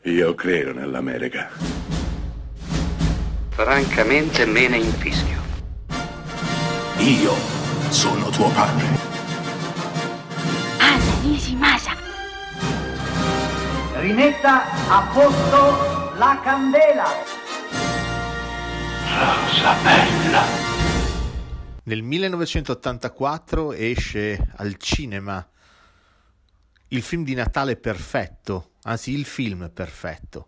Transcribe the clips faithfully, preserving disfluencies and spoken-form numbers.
Io credo nell'America. Francamente me ne infischio. Io sono tuo padre. Anna Nishimasa. Rimetta a posto la candela. Rosa bella. Nel millenovecentottantaquattro esce al cinema il film di Natale perfetto, anzi il film perfetto,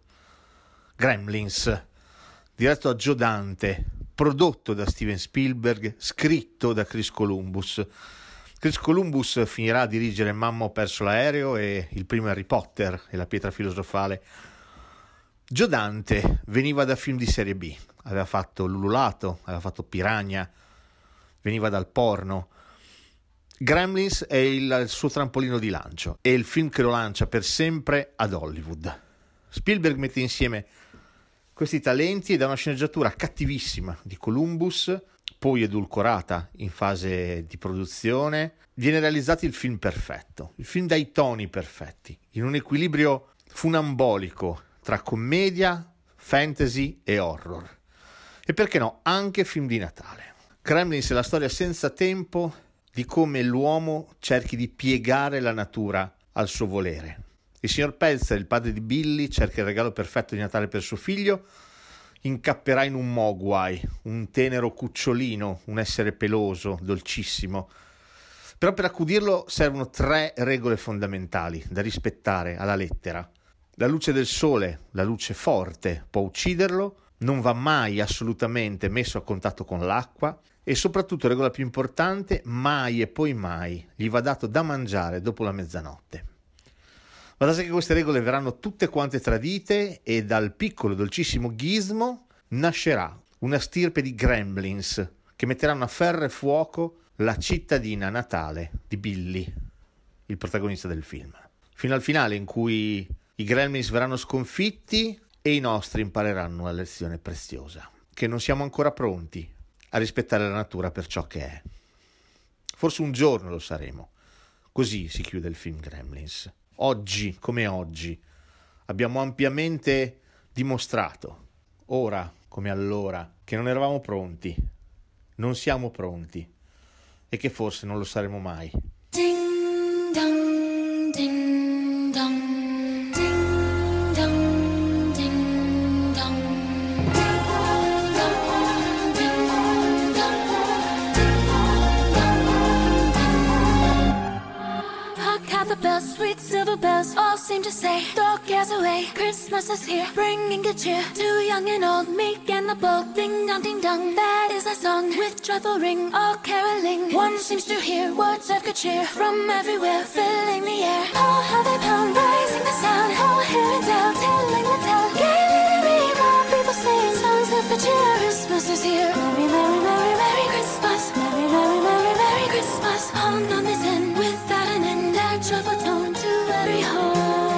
Gremlins, diretto da Joe Dante, prodotto da Steven Spielberg, scritto da Chris Columbus. Chris Columbus finirà a dirigere Mamma ho perso l'aereo e il primo Harry Potter e la pietra filosofale. Joe Dante veniva da film di serie B, aveva fatto L'Ululato, aveva fatto Piranha, veniva dal porno. Gremlins è il, il suo trampolino di lancio, è il film che lo lancia per sempre ad Hollywood. Spielberg mette insieme questi talenti ed ha una sceneggiatura cattivissima di Columbus, poi edulcorata in fase di produzione. Viene realizzato il film perfetto, il film dai toni perfetti, in un equilibrio funambolico tra commedia, fantasy e horror. E perché no, anche film di Natale. Gremlins è la storia senza tempo di come l'uomo cerchi di piegare la natura al suo volere. Il signor Pelzer, il padre di Billy, cerca il regalo perfetto di Natale per suo figlio, incapperà in un mogwai, un tenero cucciolino, un essere peloso, dolcissimo. Però per accudirlo servono tre regole fondamentali da rispettare alla lettera. La luce del sole, la luce forte, può ucciderlo, non va mai assolutamente messo a contatto con l'acqua e soprattutto, regola più importante, mai e poi mai gli va dato da mangiare dopo la mezzanotte. Ma da sé che queste regole verranno tutte quante tradite e dal piccolo dolcissimo Gizmo nascerà una stirpe di Gremlins che metteranno a ferro e fuoco la cittadina natale di Billy, il protagonista del film. Fino al finale in cui i Gremlins verranno sconfitti e i nostri impareranno una lezione preziosa, che non siamo ancora pronti a rispettare la natura per ciò che è. Forse un giorno lo saremo. Così si chiude il film Gremlins. Oggi, come oggi, abbiamo ampiamente dimostrato, ora come allora, che non eravamo pronti, non siamo pronti e che forse non lo saremo mai. Ding dong, ding dong, ding dong, ding dong. The bells, sweet silver bells, all seem to say, throw cares away, Christmas is here, bringing good cheer to young and old, meek and the bold. Ding dong, ding dong, that is our song, with joyful ring, all caroling. One seems to hear words of good cheer from everywhere, filling the air. Oh, how they pound, raising the sound, oh, hear and tell, telling the tale. Gaily ring, all people sing songs of good cheer. Christmas is here. Merry, merry, merry, merry Christmas. Merry, merry, merry, merry Christmas. On on this end, without an end. Joyful tone to every home.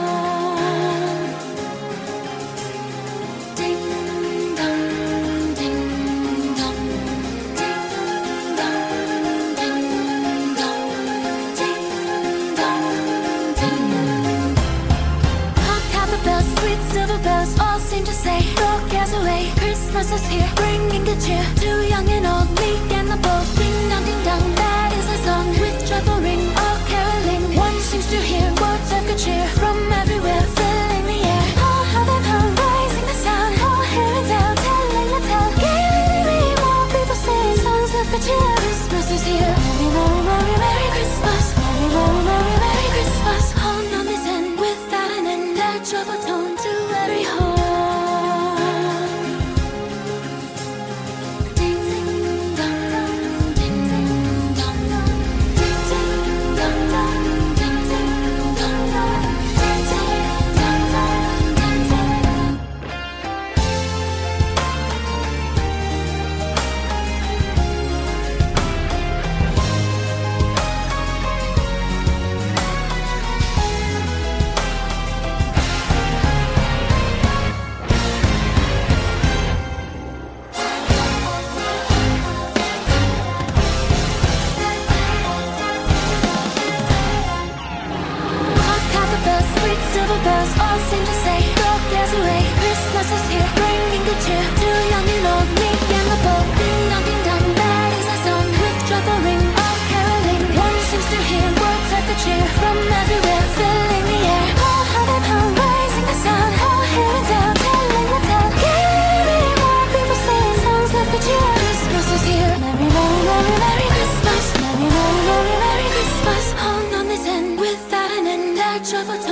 Ding dong, ding dong, ding dong, ding dong, ding dong, ding. Hark how the bells, sweet silver bells, all seem to say, throw cares away. Christmas is here, bringing good cheer to young and old, meek and the bold. Ding dong, ding dong, that is a song with joyful ring, all caroling. One seems to hear words of good cheer from everywhere, filling the air. Oh, how they pound, raising the sound, oh, hear and tell, telling the tale. Gaily more people sing songs of good cheer. Christmas is here. Merry, merry, merry, merry Christmas. Merry, merry, merry, merry Christmas. On on this end, without an end, a joyful tone to every home. travel